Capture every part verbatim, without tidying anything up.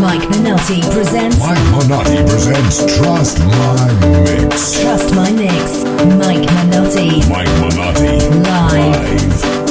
Mike Minotti presents. Mike Minotti presents Trust My Mix. Trust My Mix. Mike Minotti. Mike Minotti. Live. Live.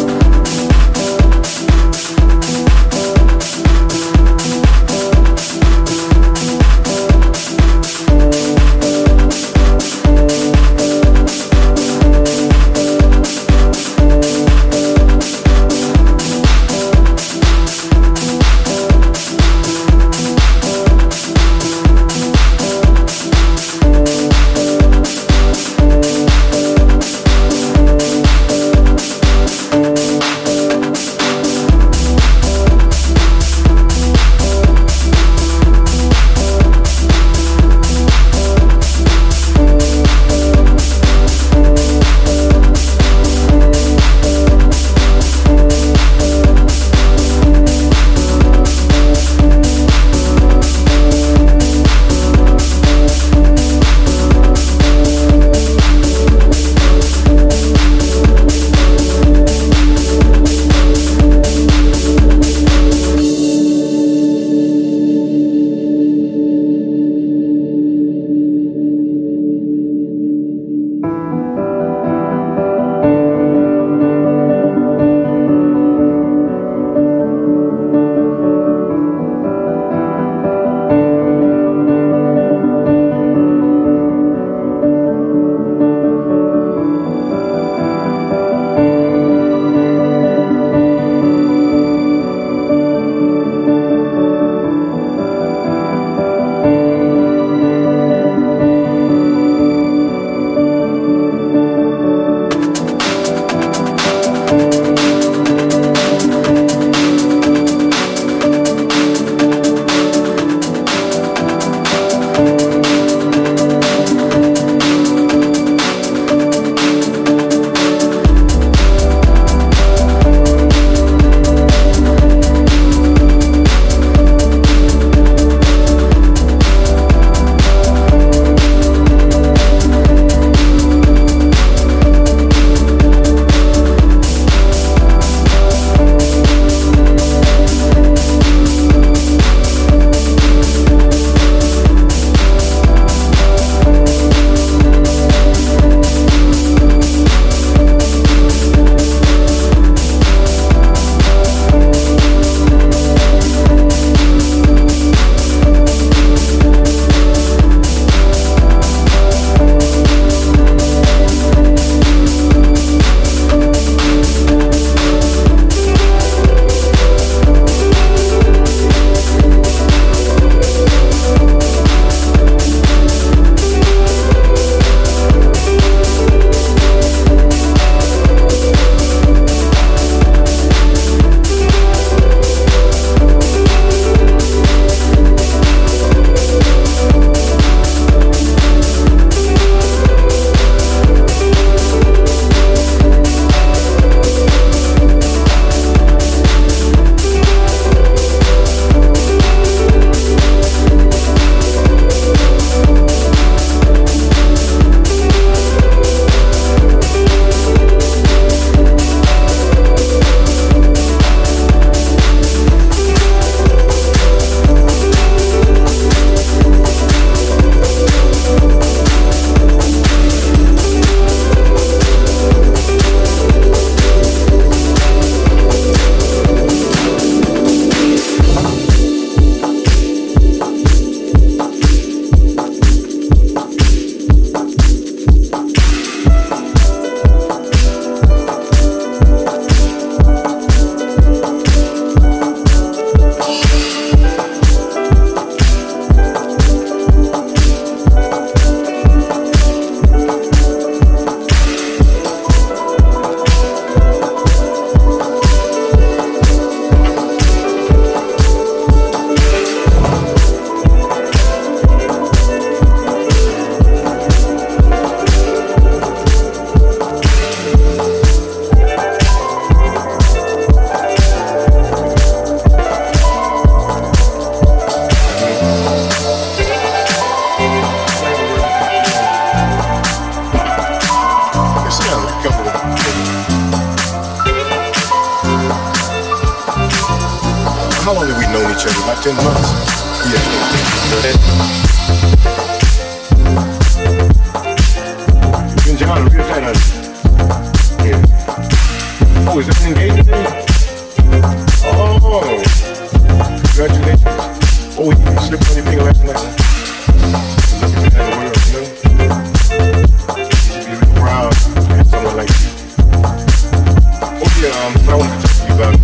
How long have we known each other? About ten months. You and John are real tight, honey. Yeah. Oh, is that an engagement ring? Oh, congratulations. Oh, you slipped on your finger last night. Looking at the world, you know? You should be really proud to have someone like you. Oh, yeah, um, what I wanted to talk to you about.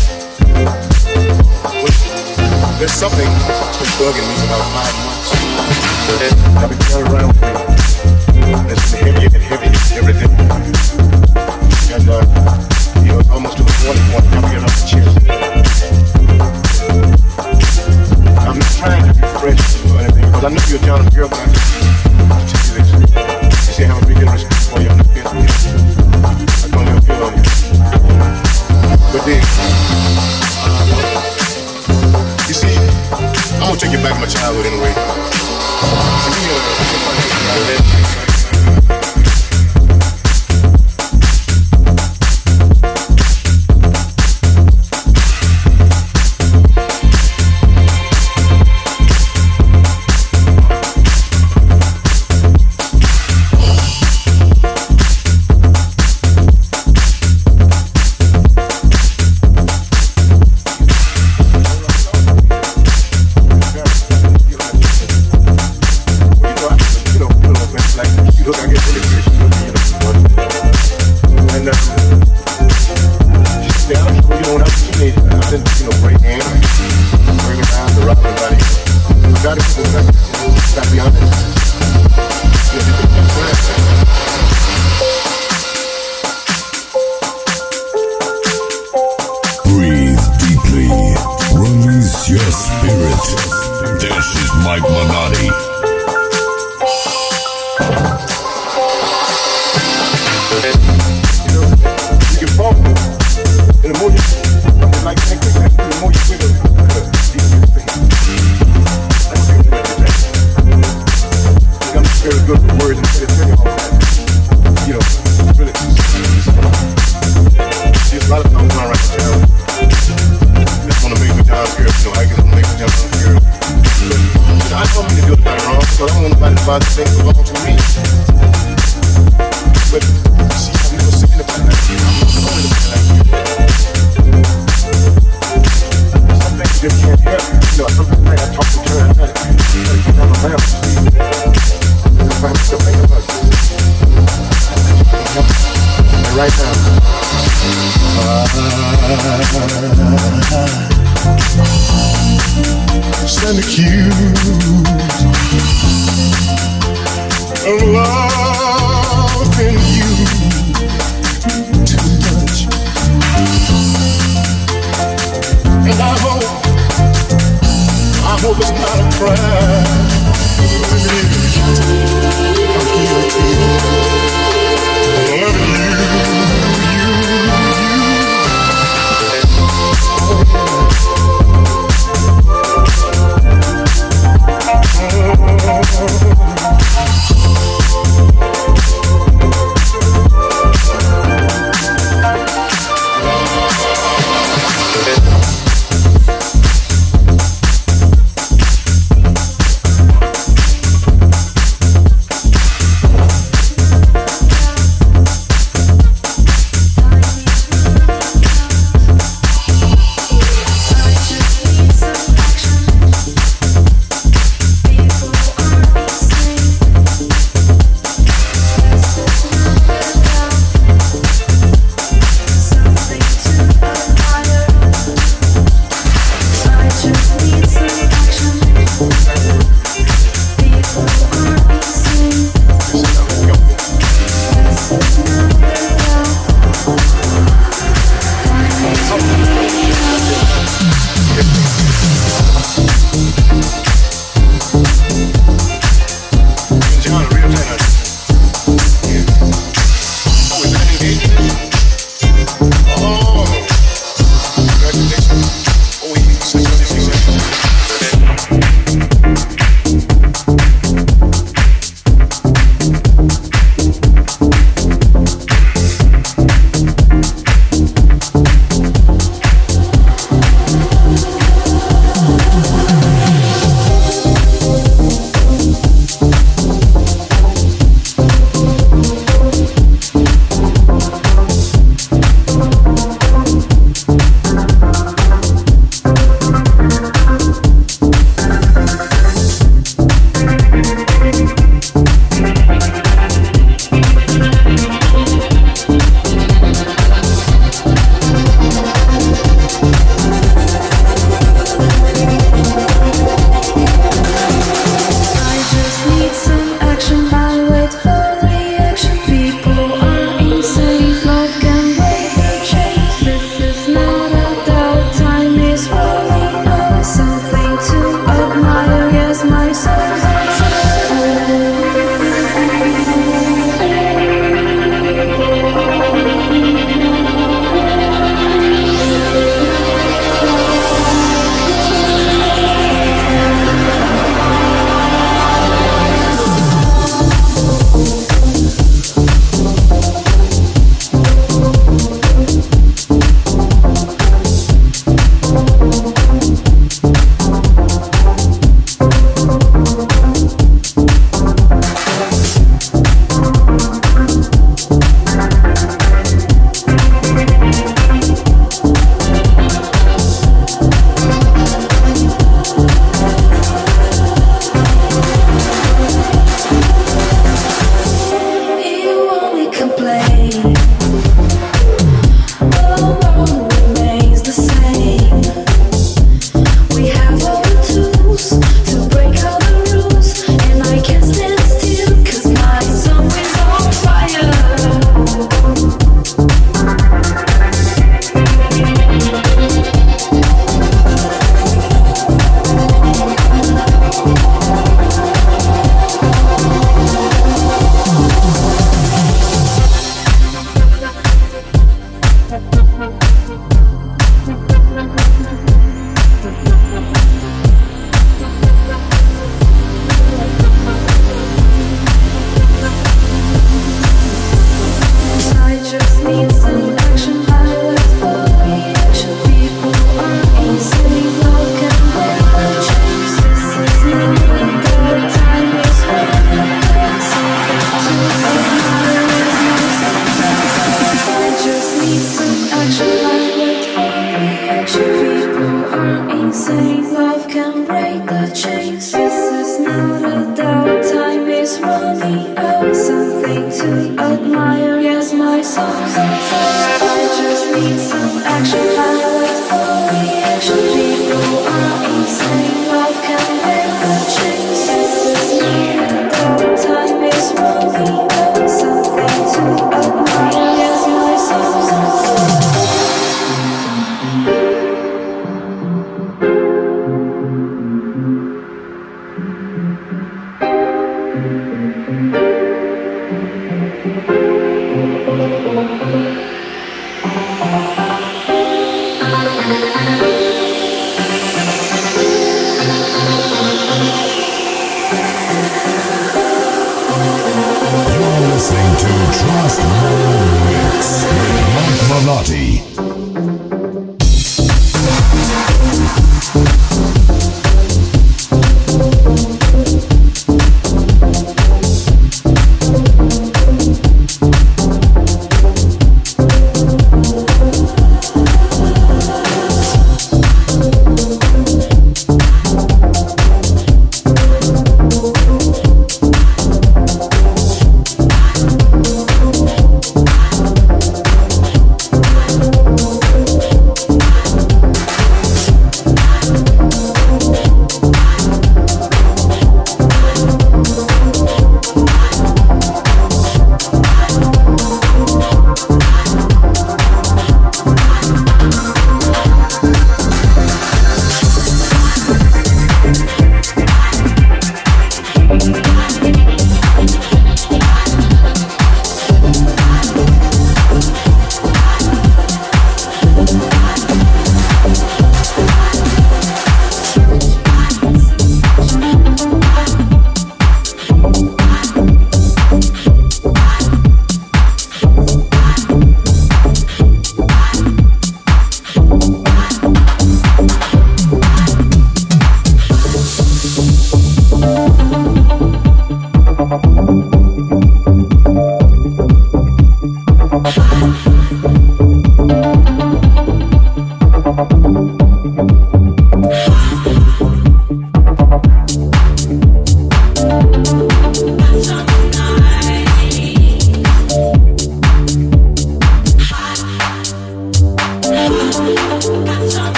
Well, there's something that's been bugging me for about five months. I've been carrying around with me. And it's been heavier and heavier every day. And, uh, you know, it's almost to the point where I can't get off the chest. I'm not trying to be fresh or anything, because I know you're a talented girl, but I just want to tell you this. You see, I have a big deal of respect for you. I'm not being with you. I don't ever feel on you. But then, you see, I'm gonna take you back to my childhood anyway. See, uh,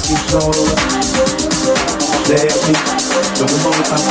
you slow. Stay at me, so the moment I'm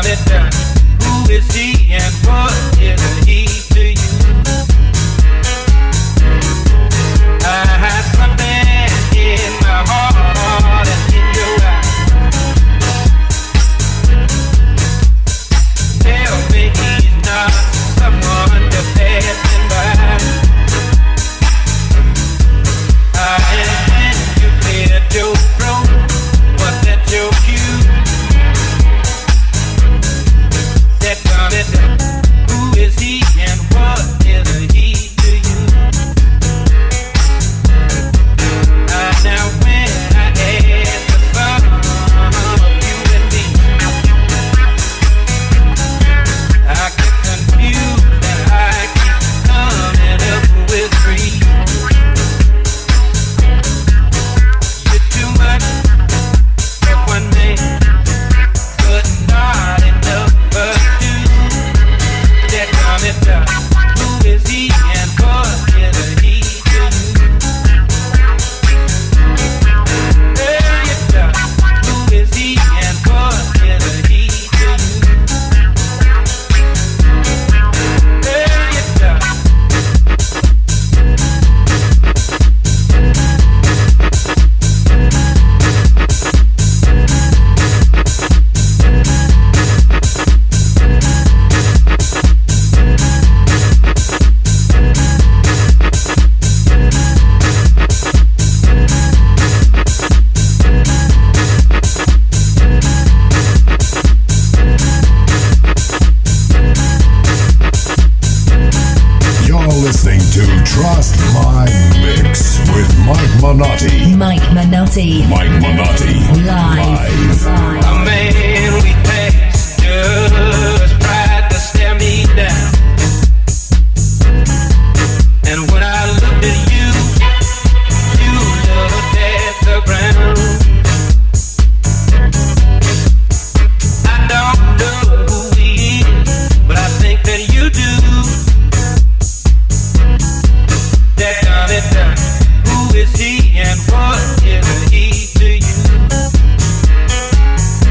Manotti. Mike Manotti. Mike Manotti. Live. Live. A man we passed just tried to stare me down. And when I looked at you, you looked at the ground. I don't know who he is, but I think that you do. That done it done. Who is he and what is he to you?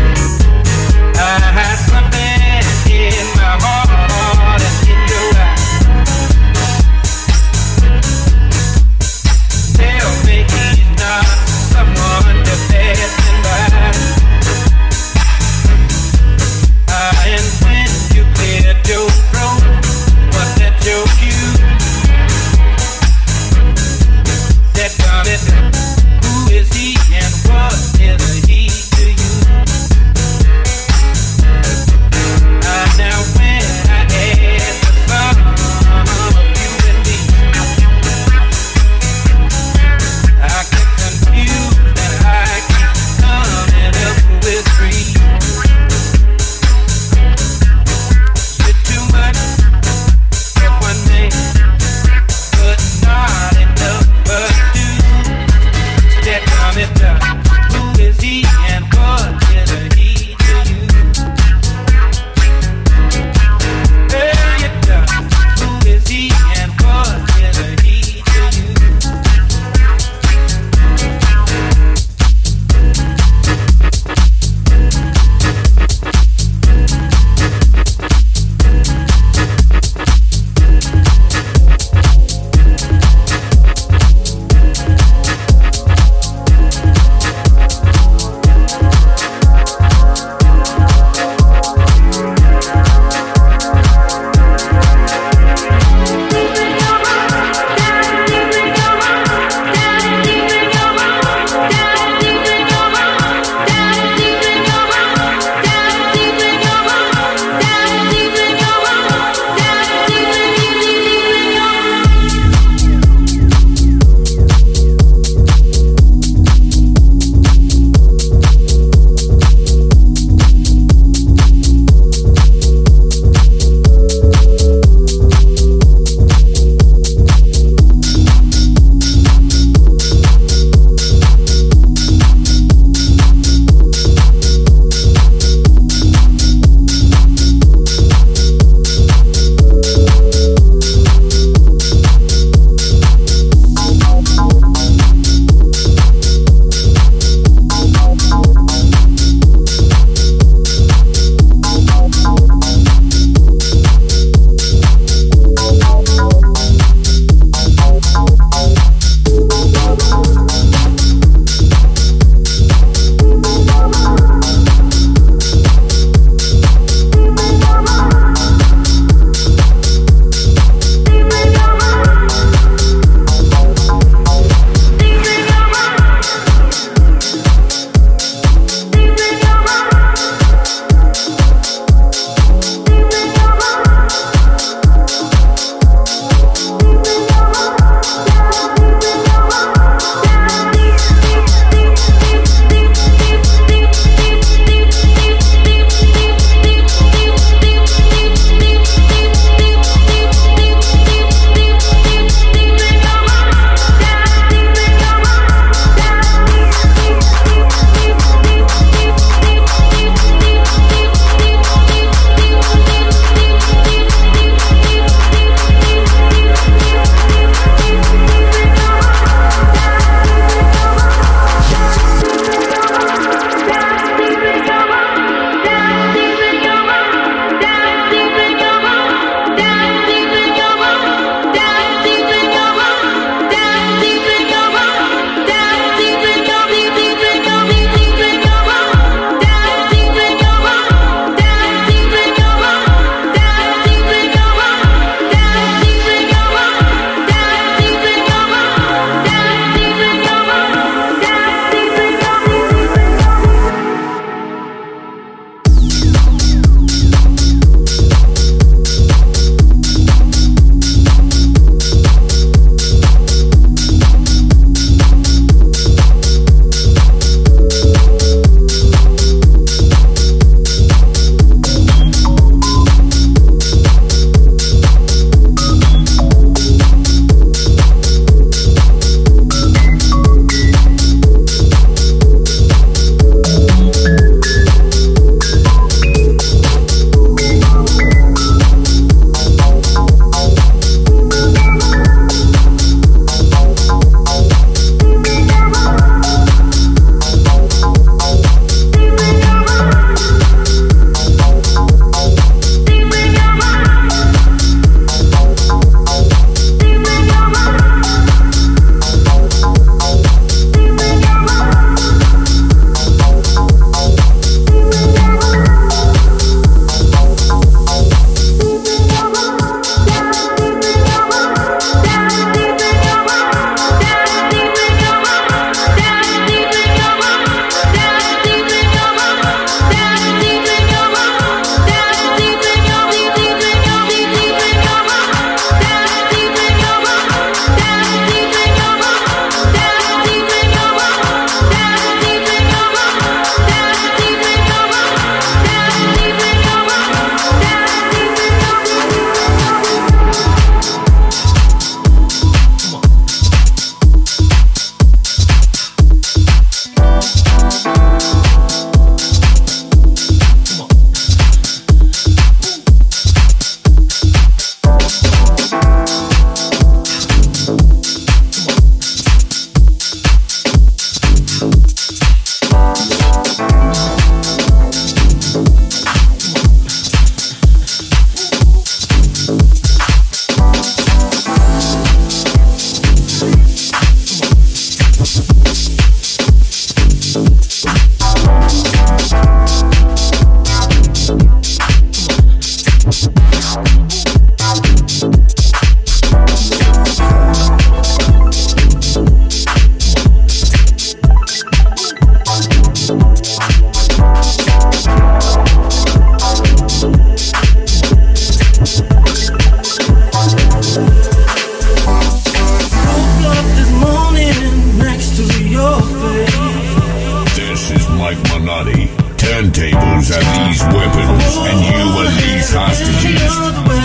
turntables are these weapons, and you are these hostages.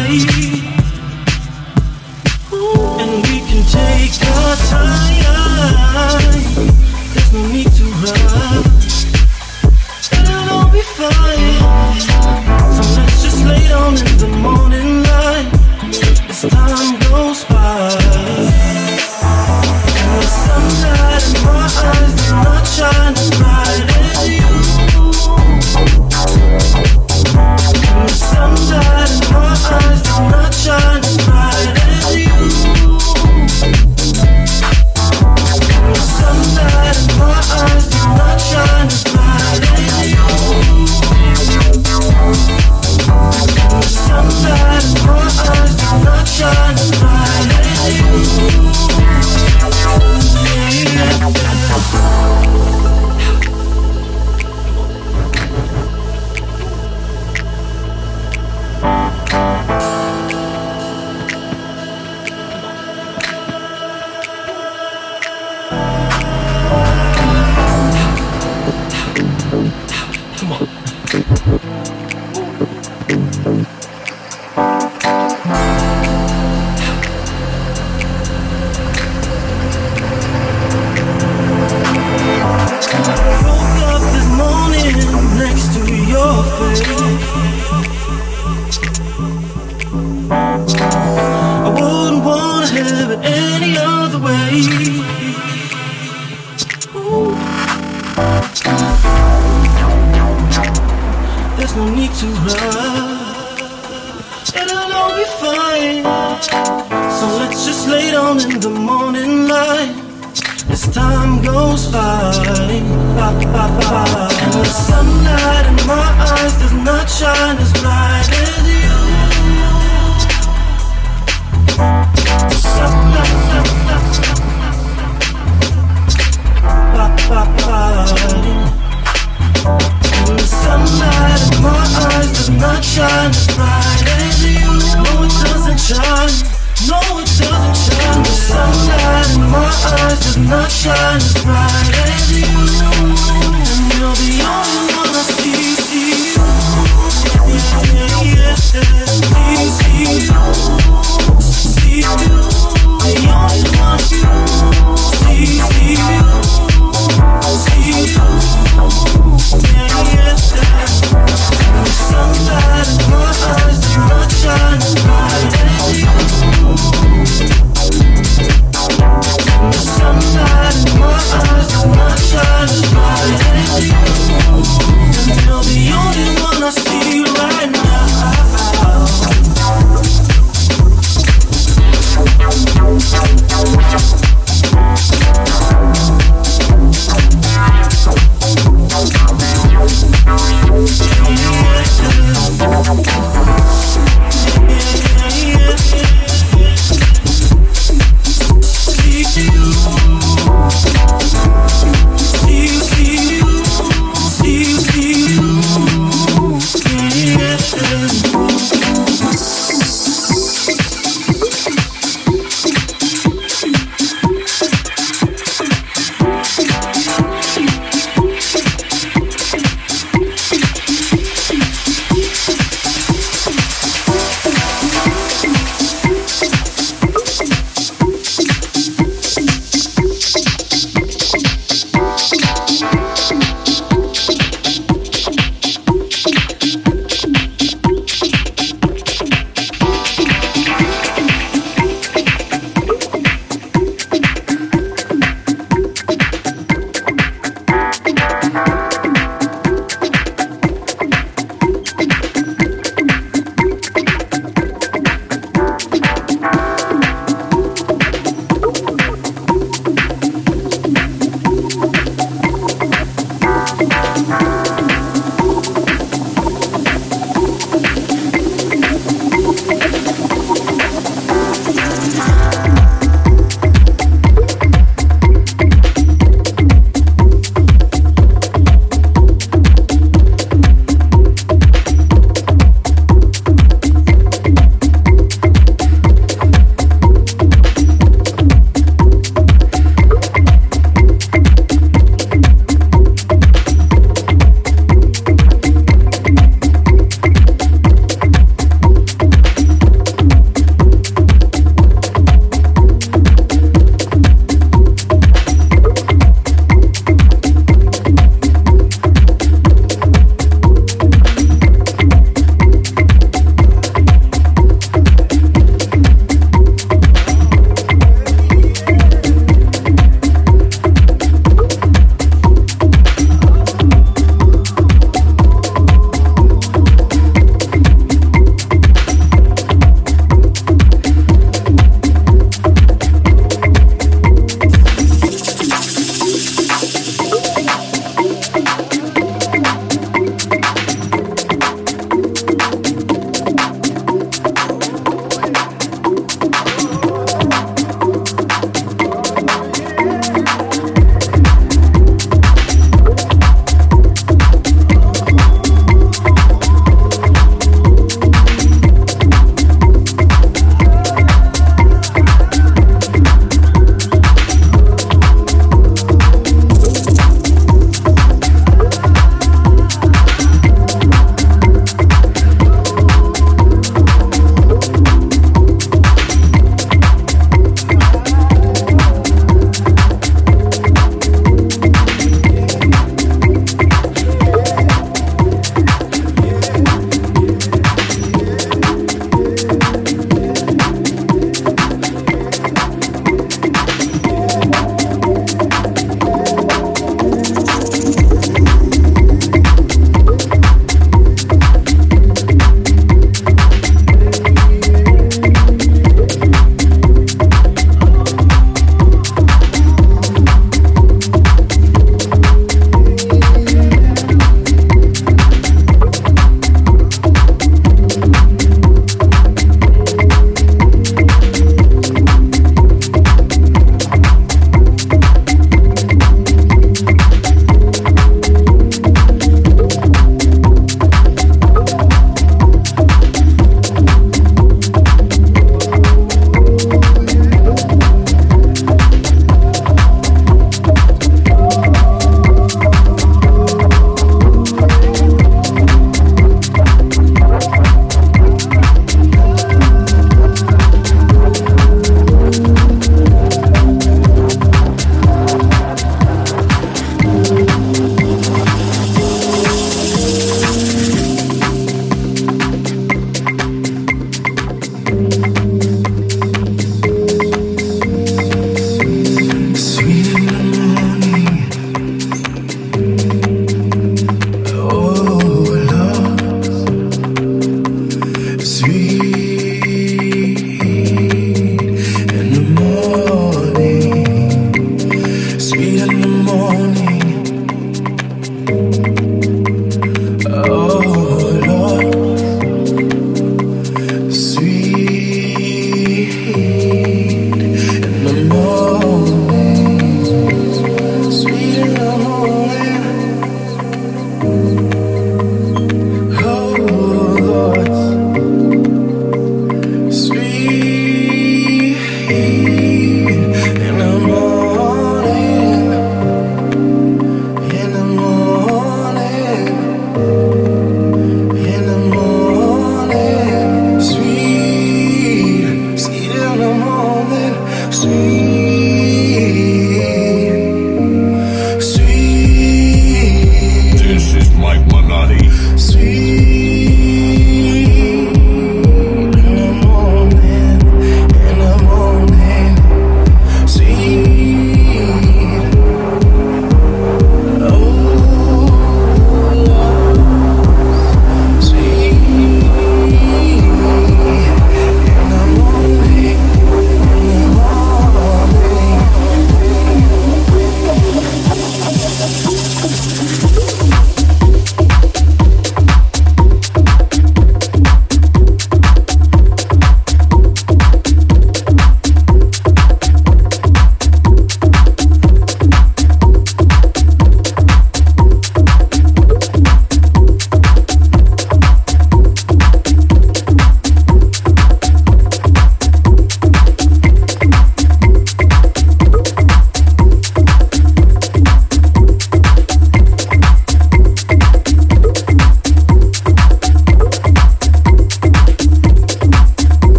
And we can take our time. There's no need to rush. It'll all be fine. So let's just lay down in the morning light as time goes by. And the sunlight in my eyes does not shine as bright as you. And the sunlight in my eyes does not shine as bright as you. And the sunlight in my eyes does not shine as bright as you. And the sunlight in my eyes does not shine as bright as you. Sunlight in my eyes does not shine as bright.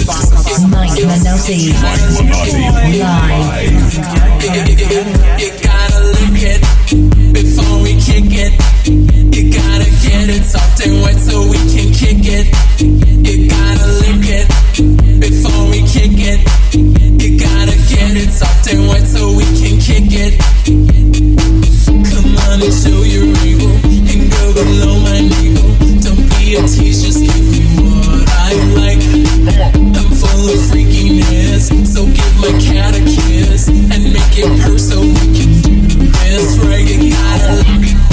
Mike Minotti. Live. You gotta lick it before we kick it. You gotta get it soft and wet so we can kick it. You gotta lick it before we kick it. You gotta get it soft and wet so we can kick it. Come on and show your ego and go below my navel. Don't be a tease, just give me what I like. I'm full of freakiness, so give my cat a kiss and make it purr so we can do this right. You gotta lick it.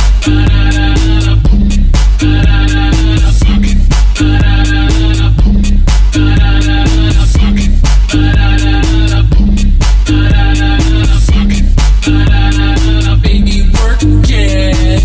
Baby, work it.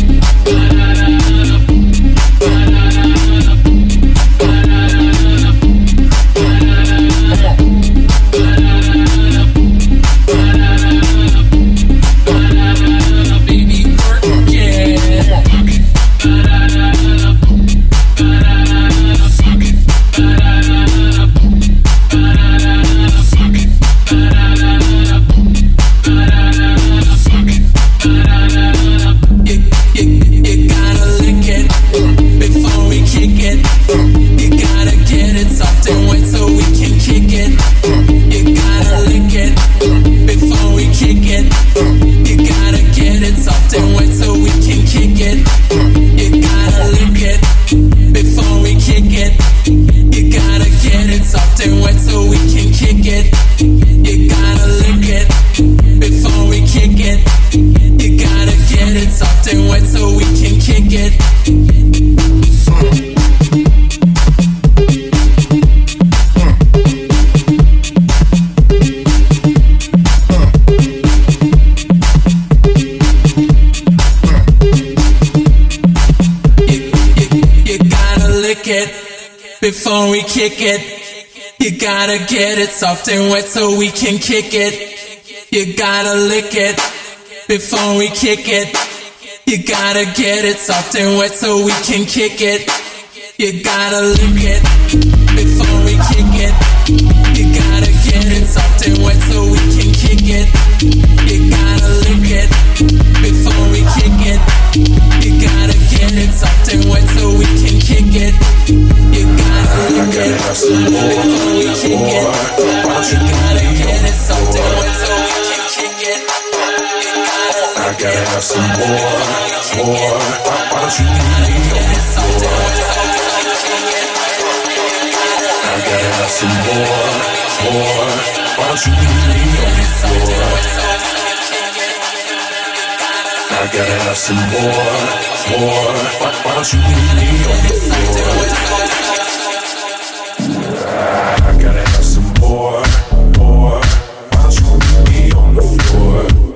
Before we kick it, you gotta get it soft and wet so we can kick it. You gotta lick it before we kick it. You gotta get it soft and wet so we can kick it. You gotta lick it before we kick it. You gotta get it soft and wet so we can kick it. You gotta lick it before we kick it. You gotta get it soft and wet so we can kick it. You gotta lick it before we kick it. You gotta get it soft and wet so we can kick it. I gotta have some more, more. Why don't you leave me on the floor? I gotta have some more, more. Why don't you leave me on the floor? I gotta have some more, more. Why, why don't you leave me on the floor? I gotta have some more, more. Why don't you leave me on the floor?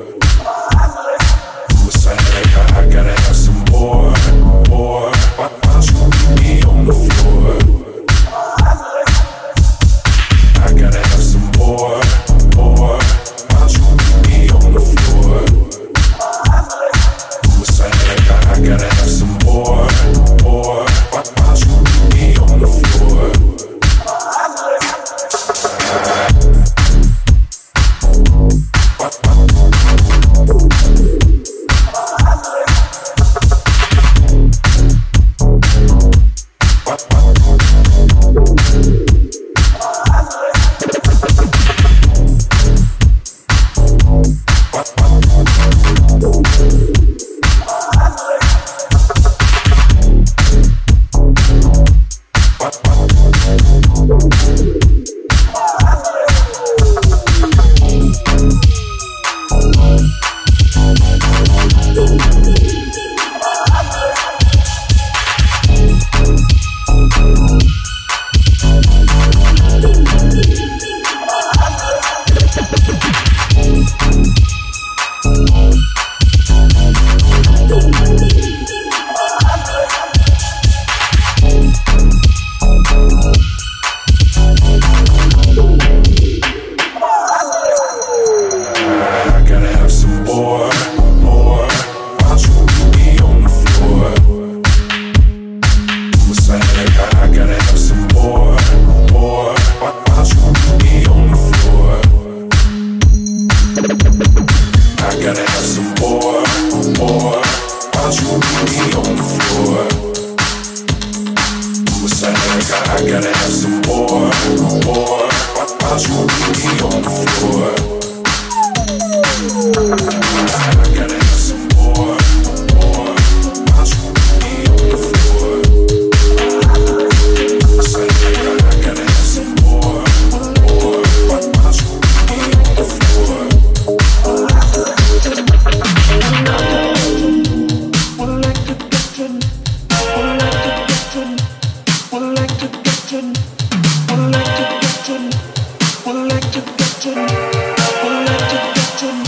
I gotta have some more, more. Why, why don't you leave me on the floor? I gotta have some more, more. Why don't you leave me on the floor? I gotta have some more, more. Why, why don't you leave me on the floor? gotta have some more, more. Why you won't meet me on the floor? I gotta have some more, more. Why you won't meet me on the floor? I said I gotta have some more, more. Why you won't meet me on the floor? Would like to get you, would like to get you, would like to get you, would like to get you, would like to get you, would like to get you, would like to get you.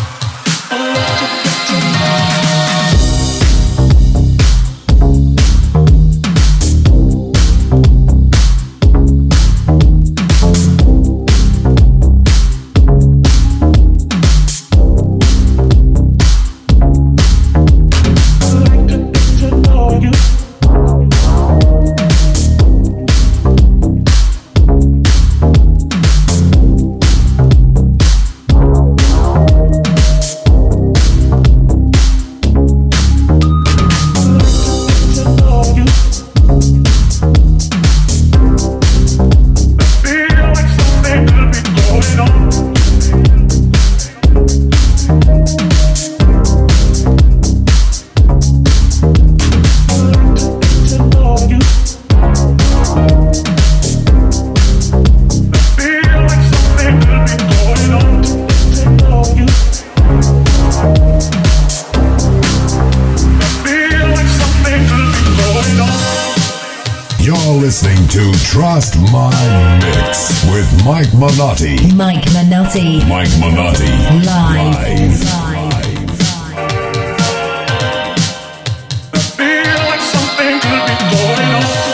Listening to Trust My Mix with Mike Minotti. Mike Minotti. Mike Minotti. Live. Live. Live. I feel like something could be going on.